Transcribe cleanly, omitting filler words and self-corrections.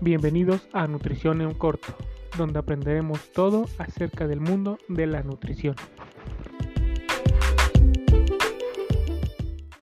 Bienvenidos a Nutrición en Corto, donde aprenderemos todo acerca del mundo de la nutrición.